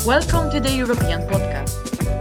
Welcome to the European Podcast.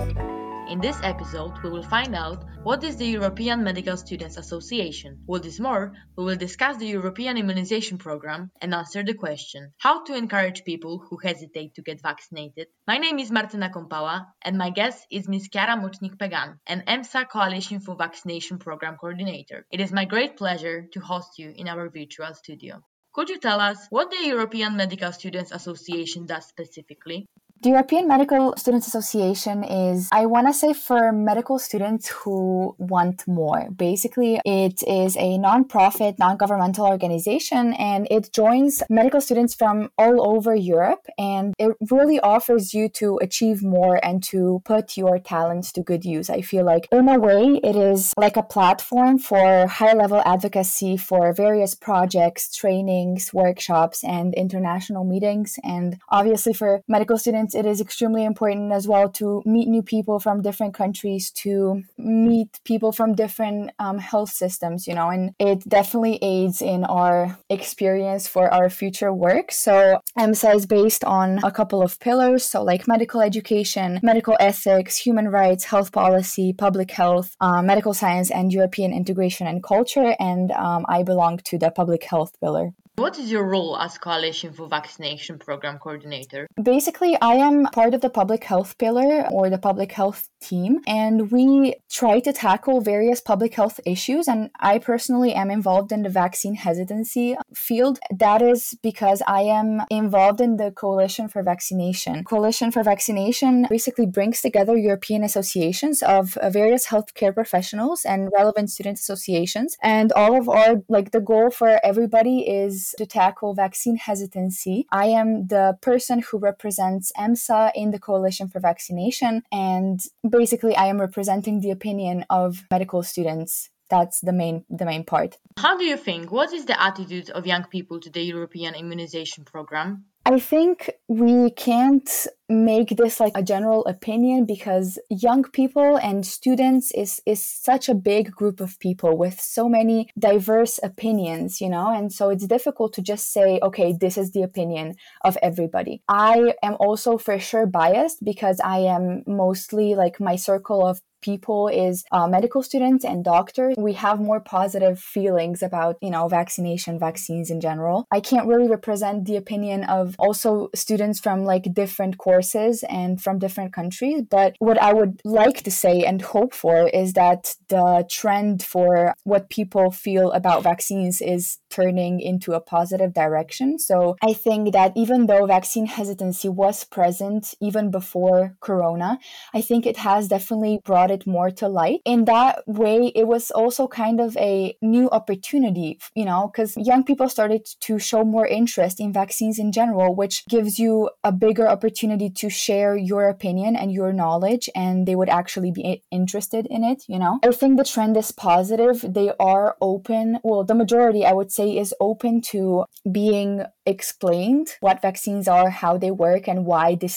In this episode, we will find out what is the European Medical Students Association. What is more, we will discuss the European Immunization Programme and answer the question, how to encourage people who hesitate to get vaccinated. My name is Martyna Kompała and my guest is Ms. Chiara Mocznik-Pegan, an EMSA Coalition for Vaccination Programme Coordinator. It is my great pleasure to host you in our virtual studio. Could you tell us what the European Medical Students Association does specifically? The European Medical Students Association is, I want to say, for medical students who want more. Basically, it is a non-profit, non-governmental organization, and it joins medical students from all over Europe, and it really offers you to achieve more and to put your talents to good use. I feel like, in a way, it is like a platform for high-level advocacy for various projects, trainings, workshops, and international meetings. And obviously, for medical students, it is extremely important as well to meet new people from different countries, to meet people from different health systems, and it definitely aids in our experience for our future work. So EMSA is based on a couple of pillars, so like medical education, medical ethics, human rights, health policy, public health, medical science, and European integration and culture, and I belong to the public health pillar. What is your role as Coalition for Vaccination Programme Coordinator? Basically, I am part of the public health pillar or the public health team, and we try to tackle various public health issues. And I personally am involved in the vaccine hesitancy field. That is because I am involved in the Coalition for Vaccination. Coalition for Vaccination basically brings together European associations of various healthcare professionals and relevant student associations. And all of our, the goal for everybody is to tackle vaccine hesitancy. I am the person who represents EMSA in the Coalition for Vaccination, and basically I am representing the opinion of medical students. That's the main part. How do you think? What is the attitude of young people to the European immunization program? I think we can't make this like a general opinion because young people and students is such a big group of people with so many diverse opinions, and so it's difficult to just say, okay, this is the opinion of everybody. I am also for sure biased because I am mostly my circle of people is medical students and doctors. We have more positive feelings about, vaccination, vaccines in general. I can't really represent the opinion of also students from different courses and from different countries. But what I would like to say and hope for is that the trend for what people feel about vaccines is turning into a positive direction. So I think that even though vaccine hesitancy was present even before Corona, I think it has definitely brought it more to light. In that way, it was also kind of a new opportunity, because young people started to show more interest in vaccines in general, which gives you a bigger opportunity to share your opinion and your knowledge, and they would actually be interested in it, I think the trend is positive. They are open. Well, the majority, I would say, is open to being explained what vaccines are, how they work, and why this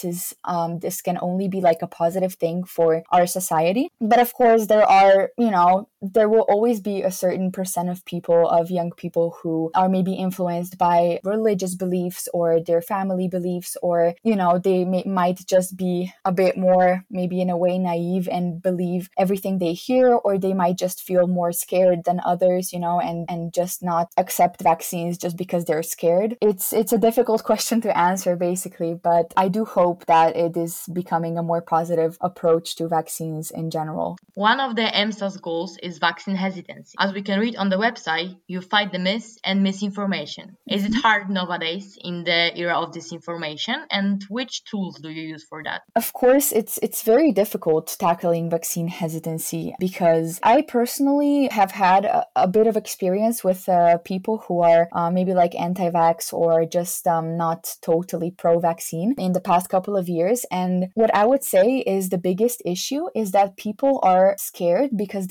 can only be a positive thing for our society. But of course, there are, there will always be a certain percent of people, of young people, who are maybe influenced by religious beliefs or their family beliefs, or, they might just be a bit more, maybe in a way, naive and believe everything they hear, or they might just feel more scared than others, and just not accept vaccines just because they're scared. It's a difficult question to answer, basically, but I do hope that it is becoming a more positive approach to vaccines in general. One of the EMSA's goals is vaccine hesitancy. As we can read on the website, you fight the myths and misinformation. Is it hard nowadays in the era of disinformation, and which tools do you use for that? Of course, it's very difficult tackling vaccine hesitancy because I personally have had a bit of experience with people who are maybe anti-vax or just not totally pro-vaccine in the past couple of years. And what I would say is the biggest issue is that people are scared because they don't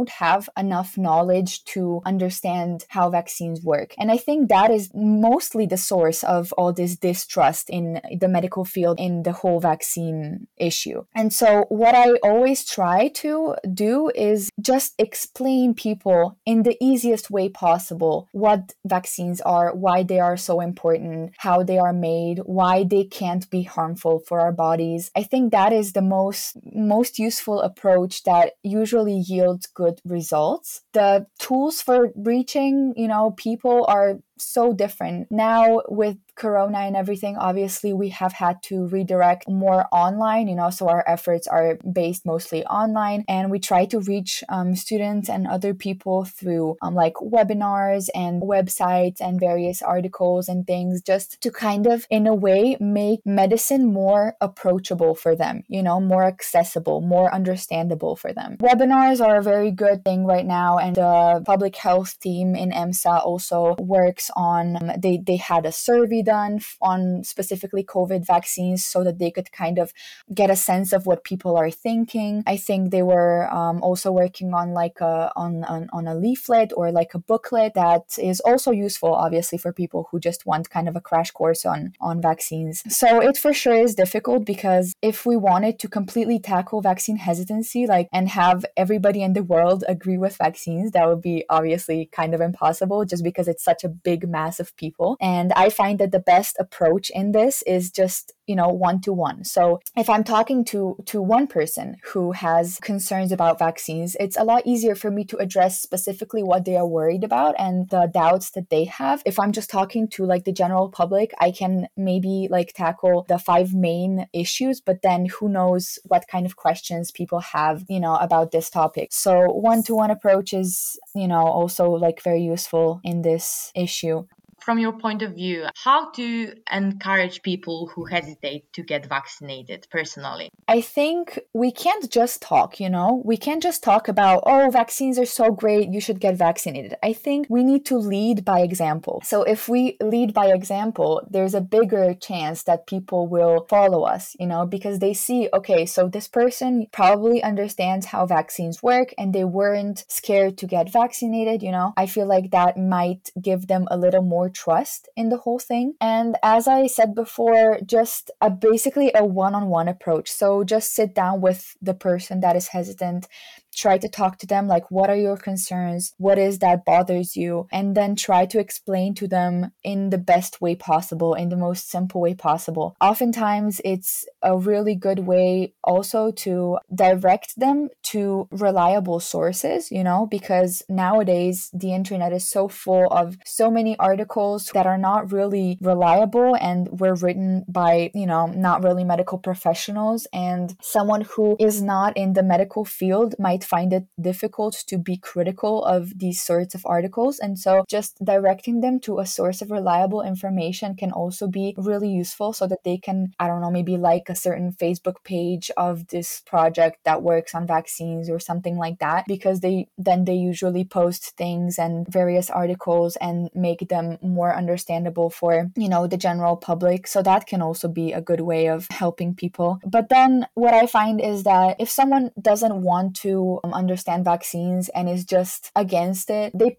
don't have enough knowledge to understand how vaccines work. And I think that is mostly the source of all this distrust in the medical field in the whole vaccine issue. And so what I always try to do is just explain people in the easiest way possible what vaccines are, why they are so important, how they are made, why they can't be harmful for our bodies. I think that is the most useful approach that usually yields good results. The tools for reaching, people are so different. Now with Corona and everything, obviously we have had to redirect more online, so our efforts are based mostly online, and we try to reach students and other people through like webinars and websites and various articles and things, just to kind of in a way make medicine more approachable for them, more accessible, more understandable for them. Webinars are a very good thing right now, and the public health team in EMSA also works on, they had a survey done on specifically COVID vaccines so that they could kind of get a sense of what people are thinking. I think they were also working on like on a leaflet or like a booklet that is also useful, obviously, for people who just want kind of a crash course on vaccines. So it for sure is difficult, because if we wanted to completely tackle vaccine hesitancy, and have everybody in the world agree with vaccines, that would be obviously kind of impossible, just because it's such a big mass of people. And I find that the best approach in this is just one-to-one. So if I'm talking to one person who has concerns about vaccines, it's a lot easier for me to address specifically what they are worried about and the doubts that they have. If I'm just talking to like the general public, I can maybe like tackle the 5 main issues, but then who knows what kind of questions people have, about this topic. So one-to-one approach is, also like very useful in this issue. From your point of view, how to encourage people who hesitate to get vaccinated personally? I think we can't just talk, we can't just talk about, oh, vaccines are so great, you should get vaccinated. I think we need to lead by example. So if we lead by example, there's a bigger chance that people will follow us, because they see, okay, so this person probably understands how vaccines work and they weren't scared to get vaccinated, I feel like that might give them a little more trust in the whole thing. And as I said before, just basically a one-on-one approach. So just sit down with the person that is hesitant, try to talk to them, like, what are your concerns? What is that bothers you? And then try to explain to them in the best way possible, in the most simple way possible. Oftentimes, it's a really good way also to direct them to reliable sources, because nowadays the internet is so full of so many articles that are not really reliable and were written by, not really medical professionals. And someone who is not in the medical field might find it difficult to be critical of these sorts of articles. And so just directing them to a source of reliable information can also be really useful, so that they can, maybe like a certain Facebook page of this project that works on vaccines or something like that, because they usually post things and various articles and make them more understandable for, the general public. So that can also be a good way of helping people. But then what I find is that if someone doesn't want to understand vaccines and is just against it, you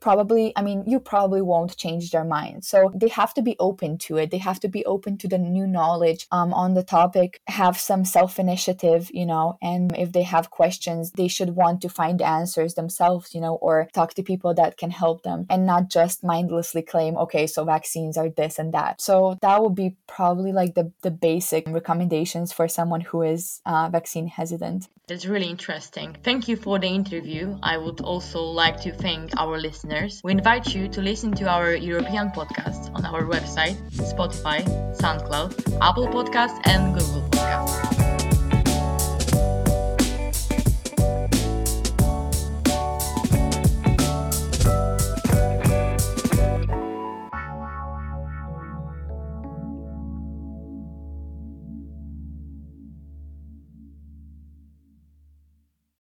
probably won't change their mind. So they have to be open to it. They have to be open to the new knowledge on the topic, have some self-initiative, and if they have questions, they should want to find answers themselves, or talk to people that can help them, and not just mindlessly claim, okay, so vaccines are this and that. So that would be probably like the basic recommendations for someone who is vaccine hesitant. That's really interesting. Thank you for the interview. I would also like to thank our listeners. We invite you to listen to our European podcast on our website, Spotify, SoundCloud, Apple Podcasts, and Google Podcasts.